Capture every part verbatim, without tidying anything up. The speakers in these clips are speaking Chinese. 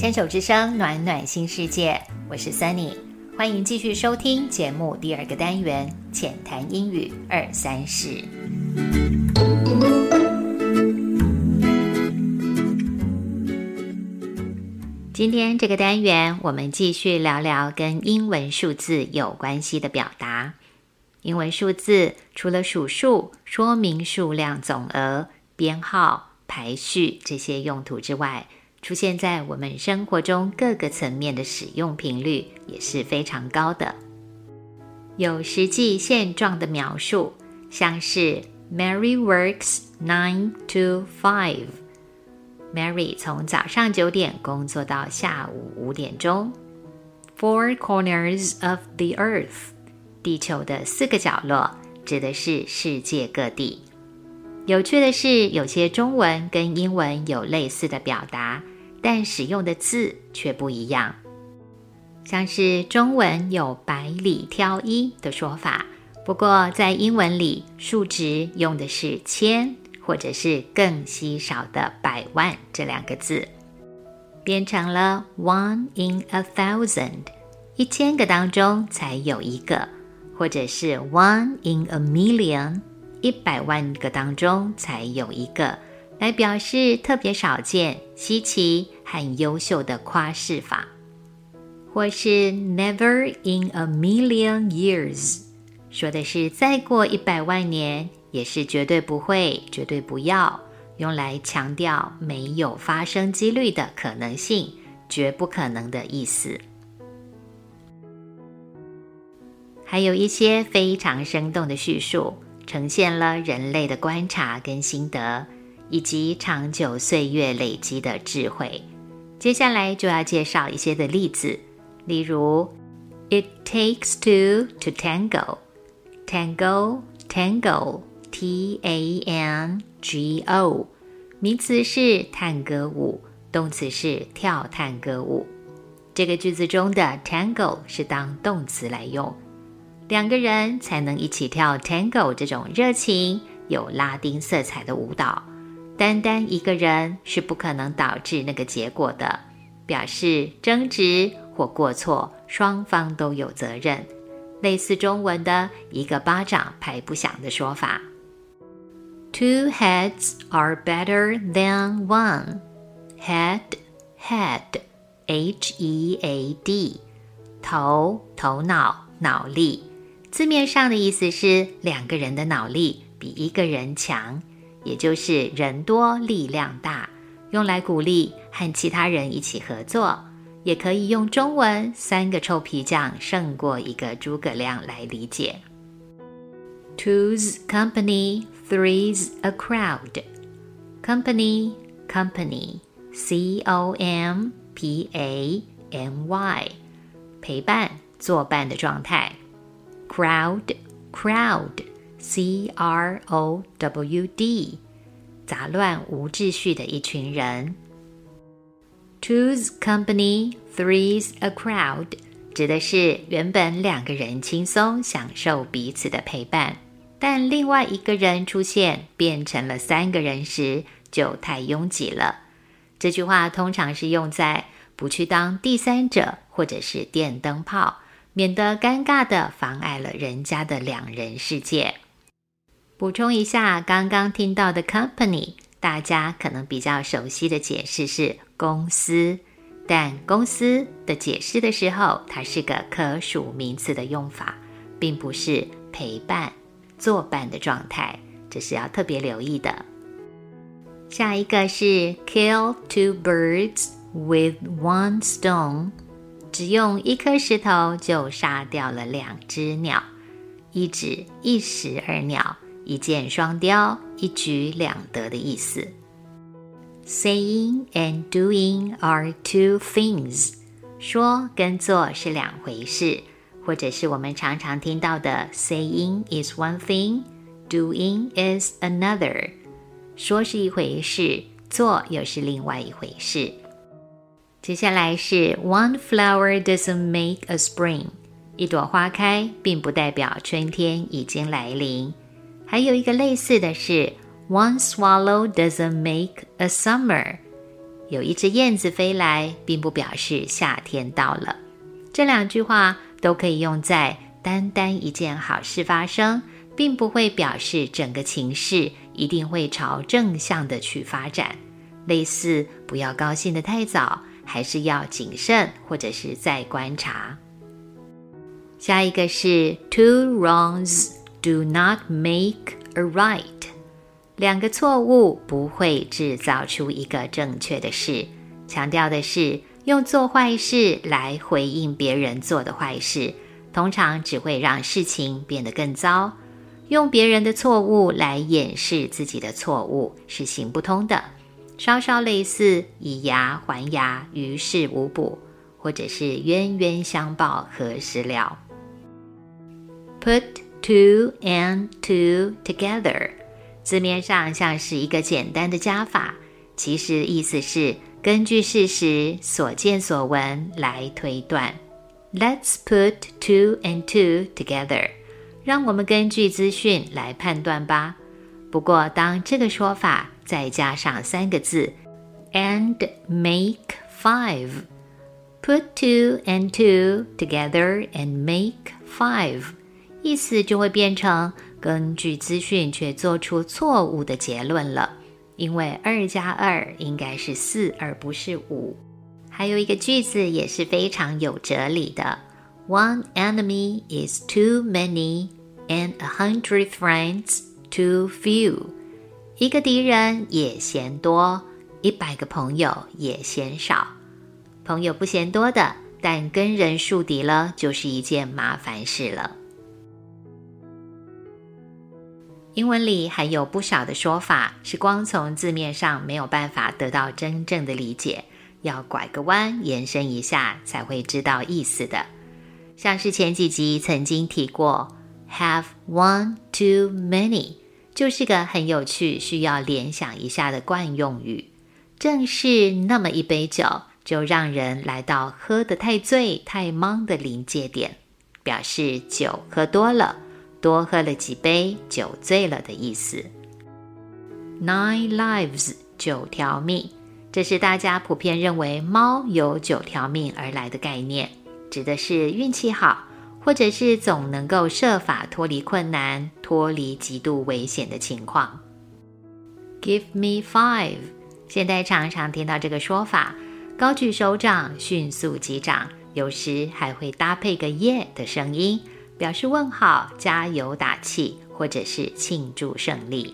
牵手之声，暖暖新世界，我是 Sunny， 欢迎继续收听节目第二个单元浅谈英语二三事。今天这个单元我们继续聊聊跟英文数字有关系的表达。英文数字除了数数、说明数量总额、编号、排序这些用途之外，出现在我们生活中各个层面的使用频率也是非常高的。有实际现状的描述，像是 Mary works nine to five。 Mary 从早上九点工作到下午五点钟。 Four corners of the earth， 地球的四个角落指的是世界各地。有趣的是，有些中文跟英文有类似的表达，但使用的字却不一样。像是中文有百里挑一的说法，不过在英文里数值用的是千，或者是更稀少的百万这两个字，变成了 one in a thousand， 一千个当中才有一个，或者是 one in a million，一百万个当中才有一个，来表示特别少见、稀奇和优秀的夸饰法。或是 never in a million years， 说的是再过一百万年也是绝对不会、绝对不要，用来强调没有发生几率的可能性，绝不可能的意思。还有一些非常生动的叙述，呈现了人类的观察跟心得，以及长久岁月累积的智慧。接下来就要介绍一些的例子，例如 It takes two to tango， Tango, tango, T A N G O， 名词是探戈舞，动词是跳探戈舞。这个句子中的 tango 是当动词来用，两个人才能一起跳 Tango 这种热情、有拉丁色彩的舞蹈，单单一个人是不可能导致那个结果的，表示争执或过错，双方都有责任。类似中文的一个巴掌拍不响的说法。Two heads are better than one. Head, head, H E A D， 头、头脑、脑力。字面上的意思是两个人的脑力比一个人强，也就是人多力量大，用来鼓励和其他人一起合作，也可以用中文三个臭皮匠胜过一个诸葛亮来理解。Two's company, three's a crowd. Company, company, C O M P A N Y， 陪伴、作伴的状态。Crowd, crowd, C R O W D， 杂乱无秩序的一群人。Two's company, three's a crowd， 指的是原本两个人轻松享受彼此的陪伴，但另外一个人出现变成了三个人时，就太拥挤了。这句话通常是用在不去当第三者或者是电灯泡，免得尴尬地妨碍了人家的两人世界。补充一下，刚刚听到的 company， 大家可能比较熟悉的解释是公司，但公司的解释的时候，它是个可数名词的用法，并不是陪伴、作伴的状态，这是要特别留意的。下一个是 kill two birds with one stone，只用一颗石头就杀掉了两只鸟，一指一石二鸟，一箭双雕，一举两得的意思。Saying and doing are two things， 说跟做是两回事，或者是我们常常听到的 saying is one thing, doing is another， 说是一回事，做又是另外一回事。接下来是 One flower doesn't make a spring， 一朵花开并不代表春天已经来临。还有一个类似的是 One swallow doesn't make a summer， 有一只燕子飞来，并不表示夏天到了。这两句话都可以用在单单一件好事发生，并不会表示整个情势一定会朝正向的去发展。类似不要高兴得太早，还是要谨慎，或者是再观察。下一个是 Two wrongs do not make a right。 两个错误不会制造出一个正确的事，强调的是用做坏事来回应别人做的坏事，通常只会让事情变得更糟。用别人的错误来掩饰自己的错误是行不通的，稍稍类似以牙还牙，于事无补，或者是冤冤相报何时了。Put two and two together， 字面上像是一个简单的加法，其实意思是根据事实所见所闻来推断。 Let's put two and two together， 让我们根据资讯来判断吧。不过当这个说法再加上三个字 and make five， put two and two together and make five， 意思就会变成根据资讯却做出错误的结论了，因为二加二应该是四而不是五。还有一个句子也是非常有哲理的， One enemy is too many and a hundred friends too few。 一个敌人也嫌多，一百个朋友也嫌少。朋友不嫌多的，但跟人树敌了就是一件麻烦事了。英文里还有不少的说法是光从字面上没有办法得到真正的理解，要拐个弯延伸一下才会知道意思的。像是前几集曾经提过 have one too many， 就是个很有趣需要联想一下的惯用语。正是那么一杯酒，就让人来到喝得太醉太茫的临界点，表示酒喝多了，多喝了几杯，酒醉了的意思。 Nine lives， 九条命，这是大家普遍认为猫有九条命而来的概念，指的是运气好，或者是总能够设法脱离困难，脱离极度危险的情况。 Give me five， 现在常常听到这个说法，高举手掌，迅速击掌，有时还会搭配个耶的声音，表示问好，加油打气，或者是庆祝胜利。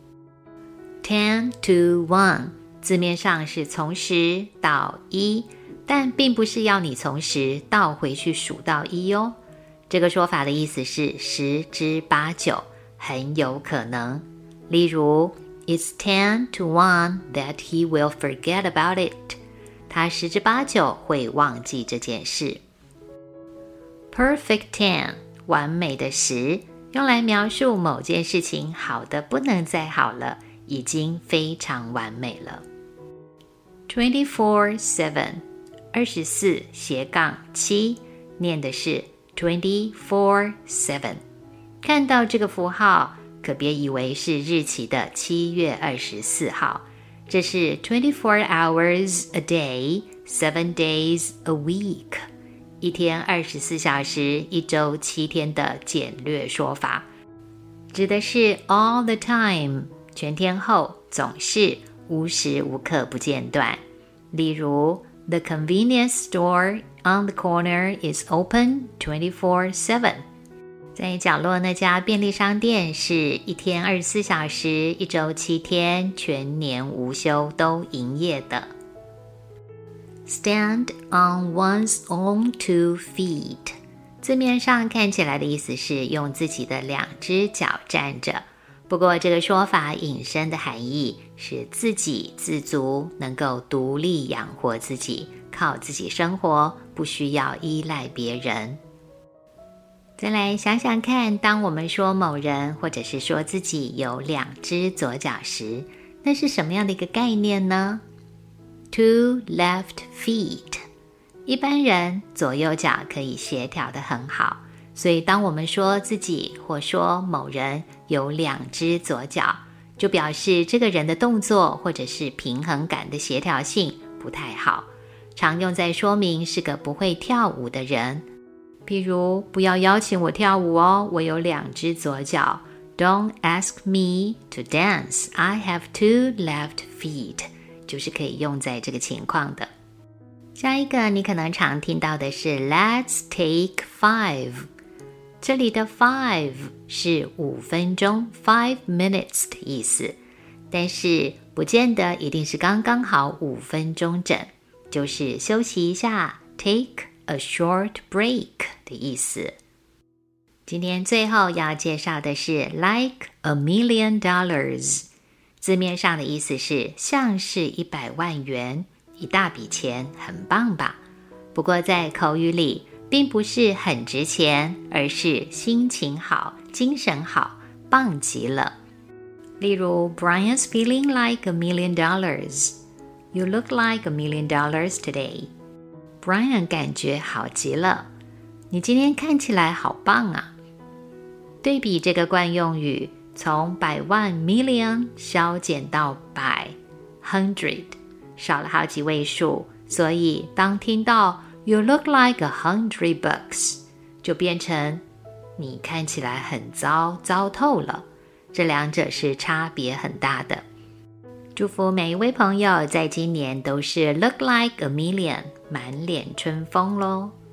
ten to one， 字面上是从十到一，但并不是要你从十倒回去数到一哦。这个说法的意思是十之八九，很有可能。例如 It's ten to one that he will forget about it， 他十之八九会忘记这件事。 Perfect ten，完美的十，用来描述某件事情好的不能再好了，已经非常完美了。twenty-four seven， 二十四斜杠七，念的是 twenty-four seven。 看到这个符号，可别以为是日期的七月二十四号，这是 twenty-four hours a day, seven days a week。一天二十四小时，一周七天的简略说法，指的是 all the time， 全天候，总是，无时无刻不间断。例如 The convenience store on the corner is open twenty-four seven， 在角落那家便利商店是一天二十四小时，一周七天，全年无休都营业的。Stand on one's own two feet， 字面上看起来的意思是用自己的两只脚站着，不过这个说法引申的含义是自给自足，能够独立养活自己，靠自己生活，不需要依赖别人。再来想想看，当我们说某人或者是说自己有两只左脚时，那是什么样的一个概念呢？Two left feet， 一般人左右脚可以协调得很好，所以当我们说自己或说某人有两只左脚，就表示这个人的动作或者是平衡感的协调性不太好，常用在说明是个不会跳舞的人。比如，不要邀请我跳舞哦，我有两只左脚。Don't ask me to dance, I have two left feet. 就是可以用在这个情况的。下一个你可能常听到的是 Let's take five. 这里的 five 是五分钟 five minutes 的意思，但是不见得一定是刚刚好五分钟整，就是休息一下 take a short break 的意思。今天最后要介绍的是 like a million dollars， 字面上的意思是像是一百万元，一大笔钱，很棒吧？不过在口语里并不是很值钱，而是心情好，精神好，棒极了。例如 Brian's feeling like a million dollars. You look like a million dollars today. Brian 感觉好极了，你今天看起来好棒啊。对比这个惯用语，从百万 million 削减到百 hundred， 少了好几位数，所以当听到 You look like a hundred bucks 就变成你看起来很糟，糟透了。这两者是差别很大的。祝福每一位朋友在今年都是 look like a million， 满脸春风咯。